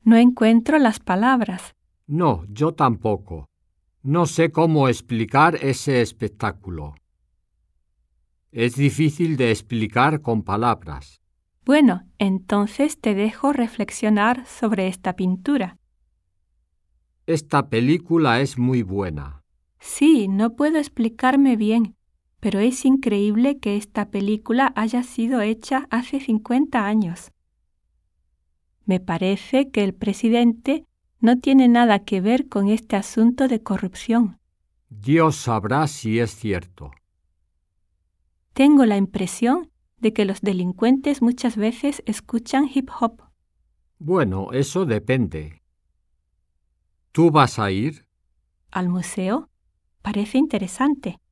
No encuentro las palabras. No, yo tampoco. No sé cómo explicar ese espectáculo. Es difícil de explicar con palabras. Bueno, entonces te dejo reflexionar sobre esta pintura. Esta película es muy buena. Sí, no puedo explicarme bien, pero es increíble que esta película haya sido hecha hace 50 años. Me parece que el presidente no tiene nada que ver con este asunto de corrupción. Dios sabrá si es cierto. Tengo la impresión de que los delincuentes muchas veces escuchan hip hop. Bueno, eso depende. ¿Tú vas a ir? ¿Al museo? Parece interesante.